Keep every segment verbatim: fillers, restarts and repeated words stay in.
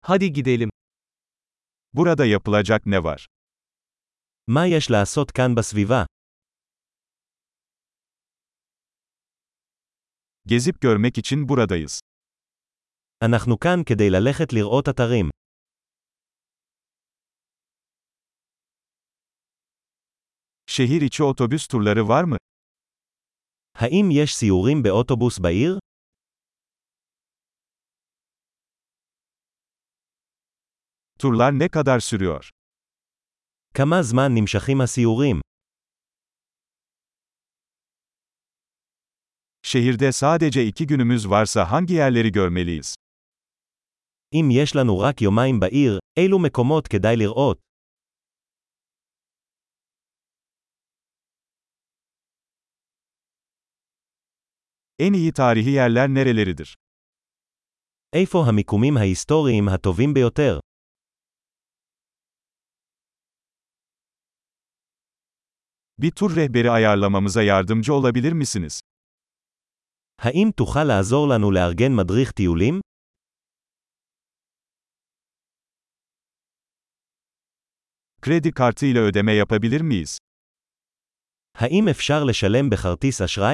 Hadi gidelim. Burada yapılacak ne var? מה יש לעשות כאן בסביבה? Gezip görmek için buradayız. אנחנו כאן כדי ללכת לראות אתרים. Şehir içi otobüs turları var mı? האם יש סיורים באוטובוס בעיר? Turlar ne kadar sürüyor? כמה זמן נמשכים הסיורים? Şehirde sadece iki günümüz varsa hangi yerleri görmeliyiz? אם יש לנו רק יומיים בעיר, אילו מקומות כדאי לראות? En iyi tarihi yerler nereleridir? איפה המיקומים ההיסטוריים הטובים ביותר? Bir tur rehberi ayarlamamıza yardımcı olabilir misiniz? האם תוכל לעזור לנו לארגן מדריך טיולים? Kredi kartı ile ödeme yapabilir miyiz? האם אפשר לשלם בכרטיס אשראי?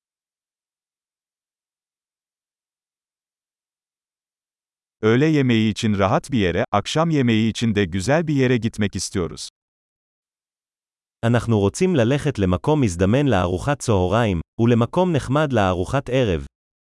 Öğle yemeği için rahat bir yere, akşam yemeği için de güzel bir yere gitmek istiyoruz. אנחנו רוצים ללכת למקום מזדמן לארוחת צהריים, ולמקום נחמד לארוחת ערב.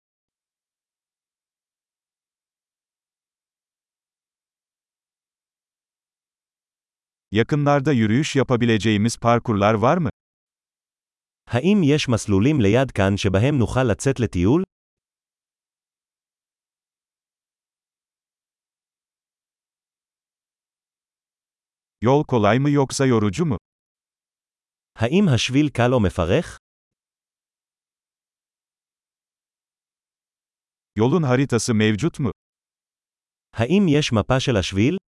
Yakınlarda yürüyüş yapabileceğimiz parkurlar var mı? האם יש מסלולים ליד כאן שבהם נוכל לצאת לטיול? Yol kolay mı yoksa yorucu mu? האם השביל קל או מפרך? Yolun haritası mevcut mu? האם יש מפה של השביל?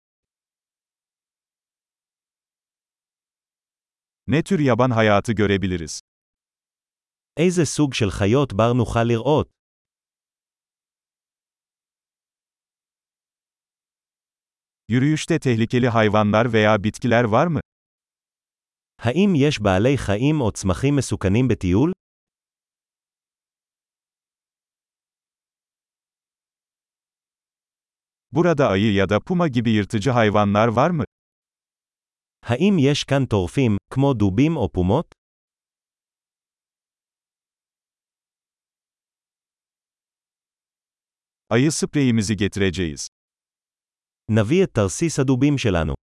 Ne tür yaban hayatı görebiliriz? איזה סוג של חיות בר נוכל לראות? Yürüyüşte tehlikeli hayvanlar veya bitkiler var mı? האם יש בעלי חיים או צמחים מסוכנים בטיול? Burada ayı ya da puma gibi yırtıcı hayvanlar var mı? האם יש כאן טורפים, כמו דובים או פומות? Ayı spreyimizi getireceğiz. נביא את תרסיס הדובים שלנו.